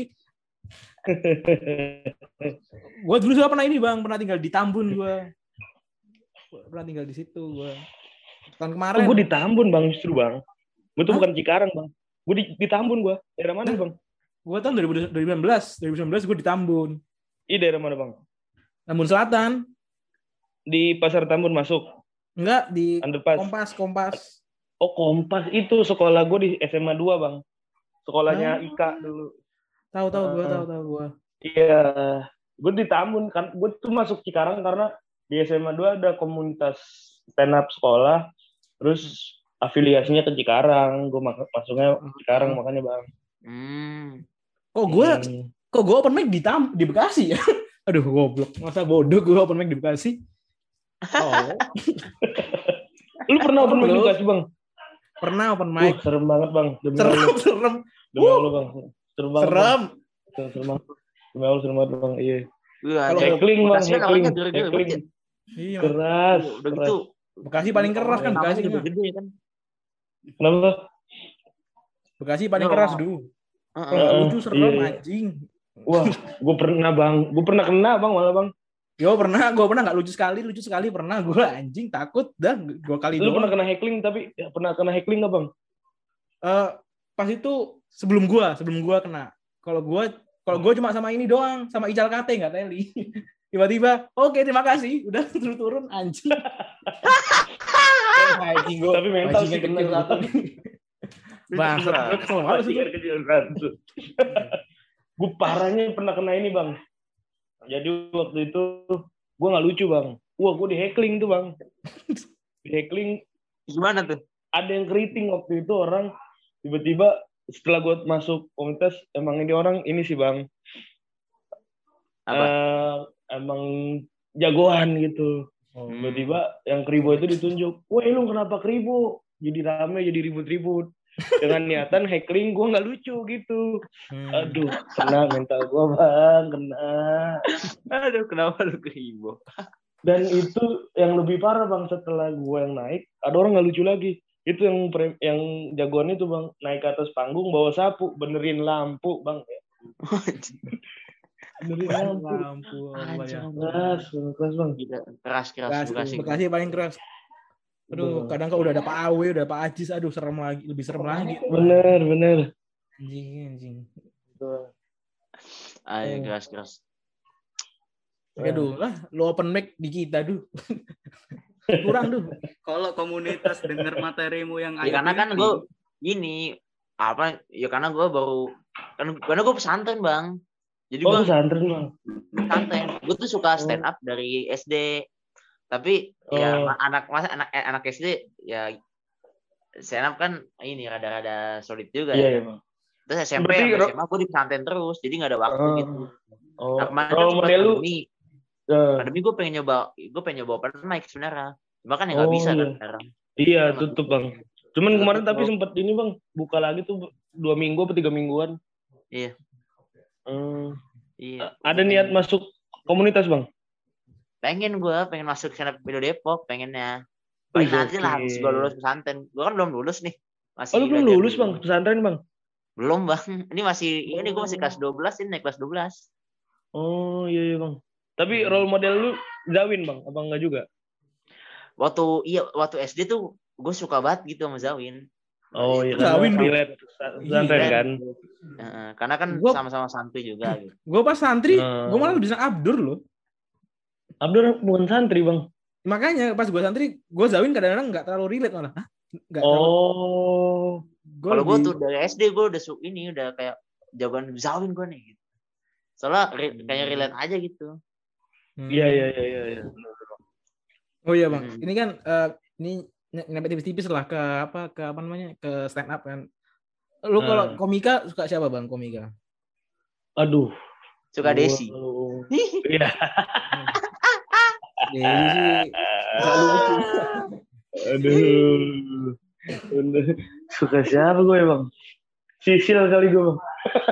Gue dulu juga pernah ini bang, pernah tinggal di Tambun gue. Pernah tinggal di situ gue. Tahun kemarin. Gue di Tambun bang justru bang. Gue tuh bukan Cikarang bang. Gue di Tambun gue. Daerah mana bang? Gue tahun 2019 gue di Tambun. Iya daerah mana bang? Tambun Selatan. Di Pasar Tambun masuk? Enggak, di Underpass. Kompas. Oh Kompas itu sekolah gue di SMA 2 bang. Sekolahnya Ika dulu. Tahu gue. Iya, gue di Tambun kan. Gue tuh masuk Cikarang karena di SMA 2 ada komunitas stand up sekolah. Terus afiliasinya ke Cikarang. Gue masuknya Cikarang makanya bang. Kok gue open mic di Bekasi ya? Aduh goblok. Masa bodoh gue open mic di Bekasi? Oh. Lu pernah open mic di Bekasi bang? Pernah open mic. Serem banget bang. Serem. Demi Allah bang. Serem banget. Serem. Demi Allah serem banget bang. Iya. Kalau heckling bang. Heckling. Iya. Keras. Udah gitu. Bekasi paling keras kan Bekasi udah gede kan. Kenapa? Bekasi paling keras dulu. Lucu serem anjing. Wah, gue pernah kena bang malah bang. Gue pernah nggak lucu sekali pernah gue anjing takut dah 2 kali doang. Lu pernah kena heckling tapi pernah kena heckling nggak bang? Pas itu sebelum gue kena. Kalau gue cuma sama ini doang, sama Ical Kate nggak teli. Tiba-tiba, oke terima kasih, udah turun anjing. Tapi mental sih kena satu. Bang, gue parahnya pernah kena ini bang. Jadi waktu itu gue nggak lucu bang. Wah gue di heckling tuh bang. heckling. Gimana tuh? Ada yang keriting waktu itu orang tiba-tiba setelah gue masuk komunitas, emang ini orang ini sih bang, Apa? emang jagoan gitu. Oh. Tiba-tiba yang keribo itu ditunjuk, woi lu kenapa keribo? Jadi rame, jadi ribut-ribut. Dengan niatan heckling gue nggak lucu gitu. Aduh, kena mental gue bang, kena. Aduh, kenapa lu keribo? Dan itu yang lebih parah bang, setelah gue yang naik, ada orang nggak lucu lagi. Itu yang jagoannya tuh bang, naik ke atas panggung bawa sapu, benerin lampu bang. Benerin lampu. Keras bang. Keras Bekasi paling keras. Aduh, kadang kalau udah ada Pak Awe, udah Pak Ajis, aduh serem lagi, lebih serem lagi. Bener. Anjing. Ayo keras. Aduh lah, lu open mic di kita duh. Kurang duh. Kalau komunitas denger materimu yang ya karena kan gue gini apa ya karena gue baru karena gue pesantren bang. Jadi gue pesantren bang. Pesantren. Gue tuh suka stand up dari SD. Tapi ya anak SD ya stand up kan ini rada-rada sulit juga ya. Bang. Terus SMP SMA gue di pesantren terus, jadi nggak ada waktu gitu. Nah, kemarin kan model lu pandemi gue pengen nyoba open mic sebenarnya. Cuma kan ya nggak bisa kan sekarang. Iya, tutup bang. Cuman kemarin tapi sempat ini bang, buka lagi tuh 2 minggu atau 3 mingguan. Iya. Iya. Ada niat masuk komunitas bang? Pengen masuk stand up Indo Depok, pengennya. Paling nanti lah habis gue lulus pesantren. Gue kan belum lulus nih. Lu belum lulus bang pesantren bang? Belum bang. Ini gue masih kelas 12, ini naik kelas 12. Oh iya bang. Tapi role model lu Zawin bang, apa enggak juga? Waktu SD tuh gue suka banget gitu sama Zawin. Oh iya, Zawin pesantren kan. Karena kan sama-sama santri juga gitu. Gue pas santri, gue malah bisa Abdur loh. Abdur bukan santri bang. Makanya pas gue santri, gue Zawin kadang-kadang nggak terlalu relate malah. Kalau gue tuh dari SD gue udah kayak jawaban Zawin gue nih. Gitu. Soalnya kayak relate aja gitu. Iya. Oh iya bang, ini kan ini nyampe tipis-tipis lah ke apa namanya ke stand up kan. Lu kalau komika suka siapa bang komika? Aduh. Suka Desi. Iya. Desi nggak lucu. Aduh. Suka siapa gue bang? Sisil kali gue bang.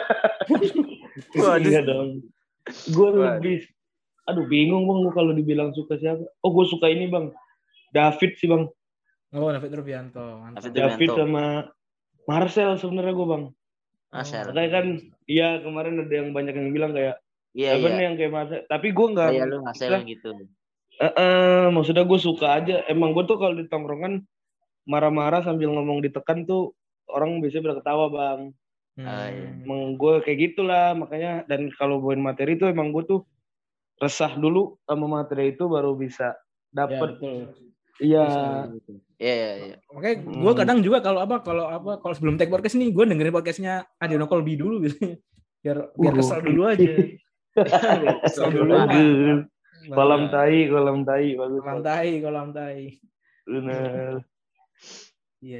Iya dong. Gue lebih, bingung bang kalau dibilang suka siapa. Oh gue suka ini bang, David sih bang. Oh David Rubianto. David sama Marcel sebenarnya gue bang. Marcel. Makanya kan, iya kemarin ada yang banyak yang bilang kayak, nih yang kayak Marcel. Tapi gue nggak. Iya lu Marcel gitu. Maksudnya gue suka aja. Emang gue tuh kalau di tongkrongan marah-marah sambil ngomong ditekan tuh orang biasanya pada ketawa bang. Emang gue kayak gitulah makanya. Dan kalau buat materi tuh emang gue tuh resah dulu sama materi itu baru bisa dapet. Iya. Makanya gue kadang juga kalau sebelum take podcast nih gue dengerin podcastnya Adino Kolbi dulu biasanya biar kesel dulu aja. Kesel dulu. Kolam tai bagus. Kolam tai. Benar. Iya.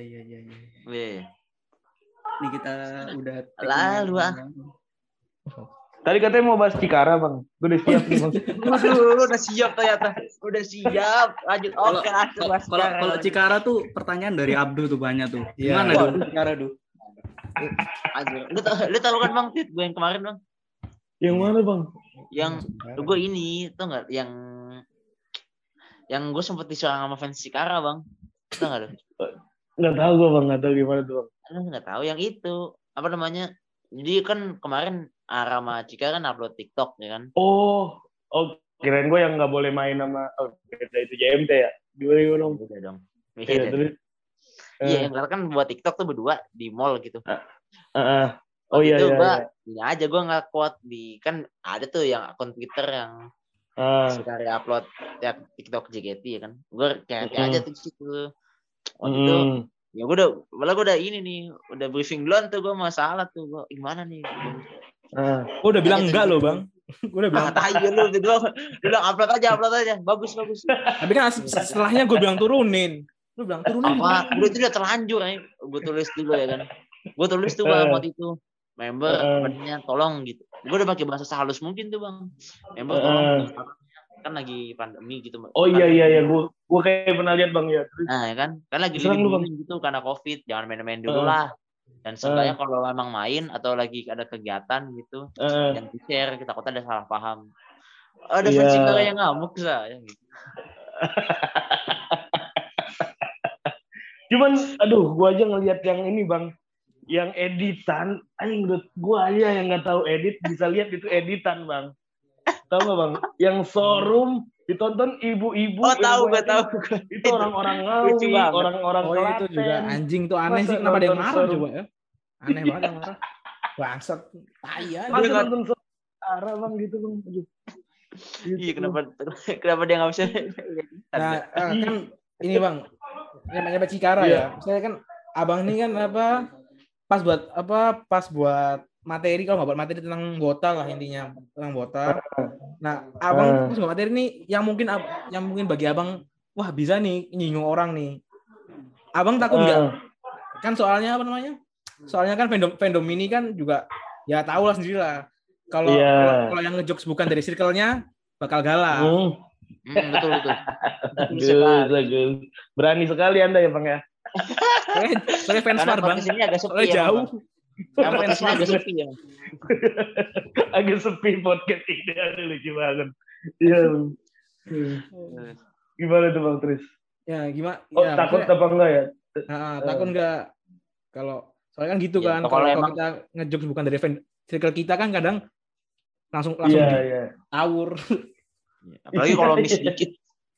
Ini kita udah lalu Tadi katanya mau bahas Cikara bang. Gue udah siap nih bang. Udah siap ternyata. Udah siap. Lanjut. Oke. Kalau Cikara tuh pertanyaan dari Abdul tuh banyak tuh. Gimana tuh Cikara tuh? Lu tahu kan bang Tit gue yang kemarin bang? Yang mana bang? Yang gue ini tau nggak? Yang gue sempet diserang sama fans Cikara bang. Tau nggak lu? Nggak tahu gue bang. Nggak tahu gimana tuh bang. Nggak tahu yang itu apa namanya? Jadi kan kemarin Arama Cikara kan upload TikTok ya kan? Oh, kirain gue yang nggak boleh main sama itu JMT ya? Gimana dong? Udah dong. Iya, kan buat TikTok tuh berdua di mall gitu. Oh iya. Ini aja gue nggak kuat di kan ada tuh yang akun Twitter yang suka upload ya TikTok JKT ya kan. Gue kayak aja tuh situ. Waktu itu ya gue udah ini nih udah briefing duluan tuh gue masalah tuh gue gimana nih. Udah bilang enggak loh bang. Gue udah bilang. Tai lu gitu. Lu bilang upload aja. Bagus. Tapi kan setelahnya gue bilang turunin. Lu bilang turunin. Apa? Udah itu udah terlanjur ya. Gue tulis dulu ya kan. Gue tulis tuh Bang waktu itu. Member katanya tolong gitu. Gue udah pakai bahasa sehalus mungkin tuh Bang. Member tolong. Kan lagi pandemi gitu. Oh iya. Gue kayak pernah lihat Bang ya. Nah ya kan. Kan lagi liburan gitu karena COVID. Jangan main-main dulu lah. Dan seenggaknya kalau memang main atau lagi ada kegiatan gitu, yang di-share, kita takutnya ada salah paham. Ada pencipta yang ngamuk saya. Gitu. Cuman, gue aja ngelihat yang ini Bang, yang editan, gue aja yang nggak tahu edit bisa lihat itu editan Bang. Tahu nggak Bang? Yang showroom ditonton ibu-ibu. Oh tahu. Itu orang-orang Ngawi, orang-orang Klaten. Itu juga anjing tuh aneh sih, kenapa ada yang marah coba ya? Aneh banget yang marah. Bangsat, tai aja. Masa nonton arah Bang gitu Bang. Iya, kenapa dia nggak bisa? Nah, kan ini Bang, namanya Cikara ya. Saya kan abang ini kan pas buat materi, kalau nggak buat materi tentang Bota lah intinya, tentang Bota. Nah, abang pas buat materi ini yang mungkin bagi abang, wah bisa nih nyinggung orang nih. Abang takut nggak? Kan soalnya Soalnya kan fandom ini kan juga ya tahu lah sendiri lah. Kalau yang ngejokes bukan dari circle-nya bakal galak. Betul. Bagus. Berani sekali Anda ya Bang ya. Soalnya fans war Bang. Soalnya jauh. Fans agak sepi ya. Agak sepi podcast ini, ada lucu banget. Iya. Gimana tuh Bang Tris? Ya gimana? Takut apa enggak ya? Takut enggak? Kalau soalnya kan gitu kan. Kalau kita ngejokes bukan dari circle kita kan kadang langsung tawur. Apalagi kalau miss dikit.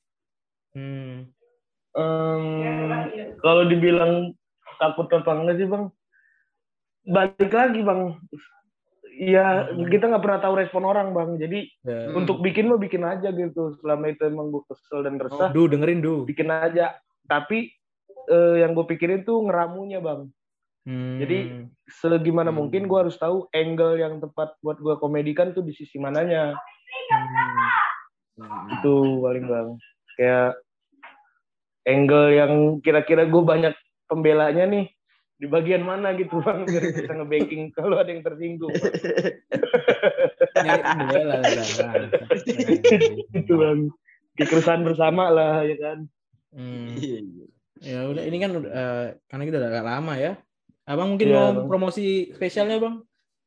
Kalau dibilang takut apa enggak sih Bang? Balik lagi Bang. Ya kita nggak pernah tahu respon orang Bang. Jadi untuk bikin aja gitu. Selama itu emang gue kesel dan resah. Dengerin bikin aja. Tapi yang gue pikirin tuh ngeramunya Bang. Jadi segimana mungkin gue harus tahu angle yang tepat buat gue komedikan tuh di sisi mananya. Itu paling Bang. Kayak angle yang kira-kira gue banyak pembelanya nih di bagian mana gitu Bang, biar bisa nge-banking kalau ada yang tersinggung. Itu Bang. Kekeresahan bersama lah ya kan. Ya udah, ini kan karena kita udah agak lama ya. Abang mungkin mau promosi spesialnya Bang?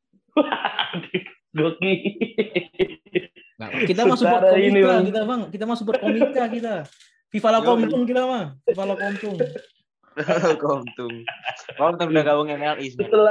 Goki. Nah, kita mau support komika kita Bang. Kita mau support komika kita. Viva la Komtung kita mah. Viva la Komtung. Komtung udah gabung MLI.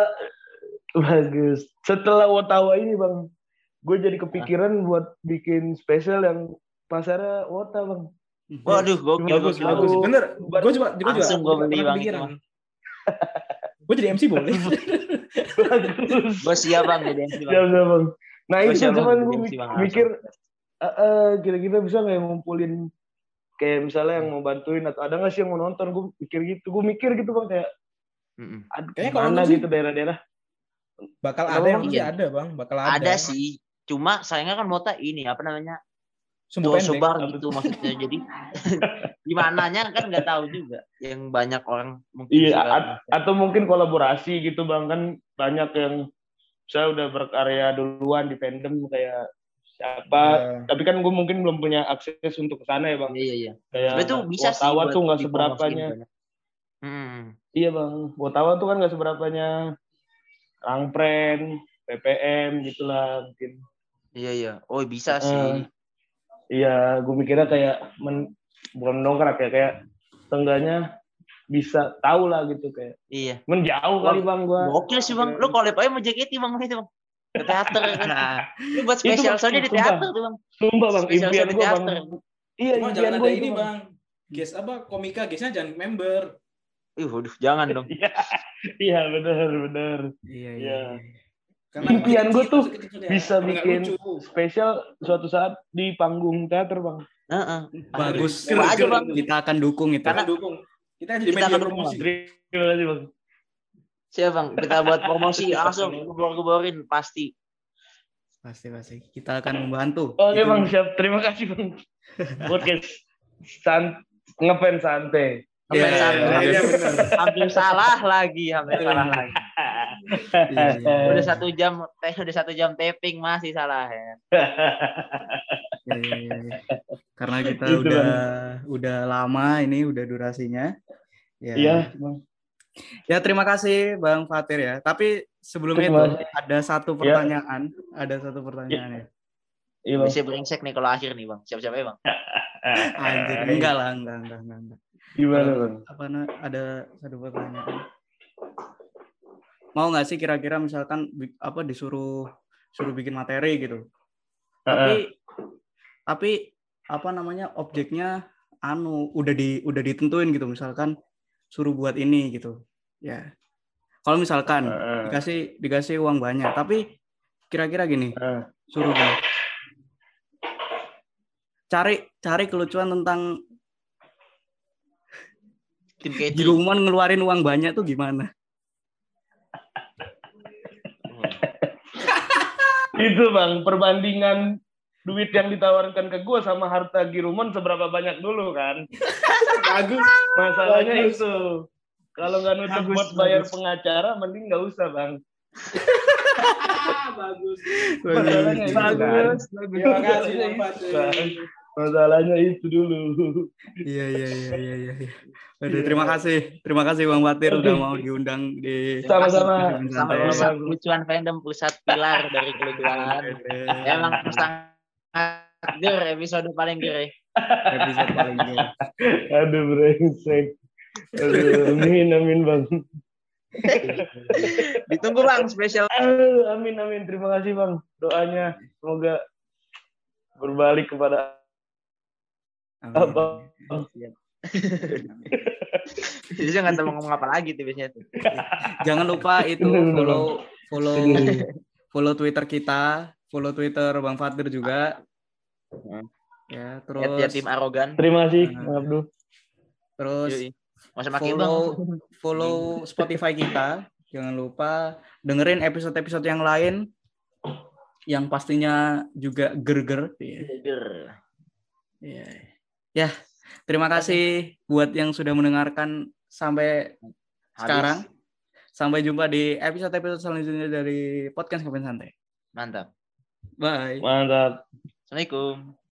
Setelah Wotawa ini Bang, gue jadi kepikiran buat bikin spesial yang pasarnya Wota Bang. Waduh, bagus. Bener. Gue juga langsung gue beli Bang. Gue jadi MC boleh. Gue siap Bang jadi MC Bang. Siap Bang. Nah itu cuman gue mikir kira-kira bisa nggak ngumpulin kayak misalnya yang mau bantuin atau ada nggak sih yang mau nonton. Gue mikir gitu Bang kayak kayaknya kalau mana gitu daerah-daerah bakal ada yang pasti ada Bang, bakal ada. Ada sih, cuma sayangnya kan Mota ini apa namanya sebar gitu maksudnya, jadi dimananya kan nggak tahu juga, yang banyak orang mungkin. Iya, atau mungkin kolaborasi gitu Bang, kan banyak yang saya udah berkarya duluan di fandom kayak siapa, tapi kan gue mungkin belum punya akses untuk ke sana ya Bang. Iya. Kayak itu bisa sih. Wotawa tuh nggak seberapanya. Iya Bang, Wotawa tuh kan nggak seberapanya Rangpren, PPM gitulah mungkin. Iya. Oh bisa sih. Iya, gue mikirnya kayak bukan mendongkrak ya, kayak seenggaknya bisa tahu lah gitu kayak. Iya. Menjauh kali Bang gua. Gokil sih Bang. Lu collab aja sama JKT Bang itu Bang. Ke teater kan. Lu buat spesial soalnya di teater tuh Bang. Sumpah Bang, impian gua Bang. Iya, impian gua ini Bang. Guys komika guysnya jangan member. Waduh, jangan dong. Iya, benar. Iya. Karena impian gue tuh bisa bikin spesial suatu saat di panggung teater Bang. Bagus. Aja Bang. Kita akan dukung itu. Kita jadi media promosi. Terima kasih Bang. Siap Bang, kita buat promosi langsung gebor-geborin pasti. Pasti. Kita akan membantu. Oke Bang, siap. Terima kasih Bang. Podcast ngefans santai. Ngefans santai. Iya, benar. Hampir salah lagi. Iya. Udah 1 jam taping masih salah ya. Iya. Karena kita Gitu, udah lama ini, udah durasinya. Iya, Bang. Ya, terima kasih Bang Fatir ya. Tapi sebelum Terima itu kasih. ada satu pertanyaan. Ya. Iya, Bang. Bisa brengsek nih kalau akhir nih Bang. Siap-siap ya Bang. Anjir, enggak lah. Gimana Bang? Ada satu pertanyaan. Mau nggak sih kira-kira misalkan disuruh bikin materi gitu. Tapi objeknya udah ditentuin gitu, misalkan suruh buat ini gitu. Ya. Kalau misalkan dikasih uang banyak, tapi kira-kira gini, suruh gini. Cari kelucuan tentang Tim K3. Girumon ngeluarin uang banyak tuh gimana? Itu Bang, perbandingan duit yang ditawarkan ke gue sama harta Girumon seberapa banyak dulu kan? Bagus. Masalahnya itu. Kalau nggak nutup buat bayar pengacara, mending nggak usah Bang. Bagus. Masalahnya itu kan. Terima kasih Bang Fatir. Masalahnya itu dulu. Iya. Aduh, terima kasih Bang Fatir udah mau diundang di Sama-sama. Pusat kelucuan fandom, pusat pilar dari kelucuan. Emang sangat episode paling ger. Episode paling ger. Aduh brengsek. Aduh, amin Bang. Ditunggu Bang spesial. Amin. Terima kasih Bang. Doanya semoga berbalik kepada Abang. Bisa nggak tahu ngomong apa lagi tuh biasanya tuh. Jangan lupa itu follow Twitter kita, follow Twitter Bang Fatir juga. Ya, terus tim arogan. Terima kasih Bang Abdul. Terus follow Spotify kita. Jangan lupa dengerin episode-episode yang lain yang pastinya juga ger-ger. Iya. Ya, terima kasih buat yang sudah mendengarkan sampai sekarang. Sampai jumpa di episode-episode selanjutnya dari Podcast Ngefans Santai. Mantap. Bye. Mantap. Assalamualaikum.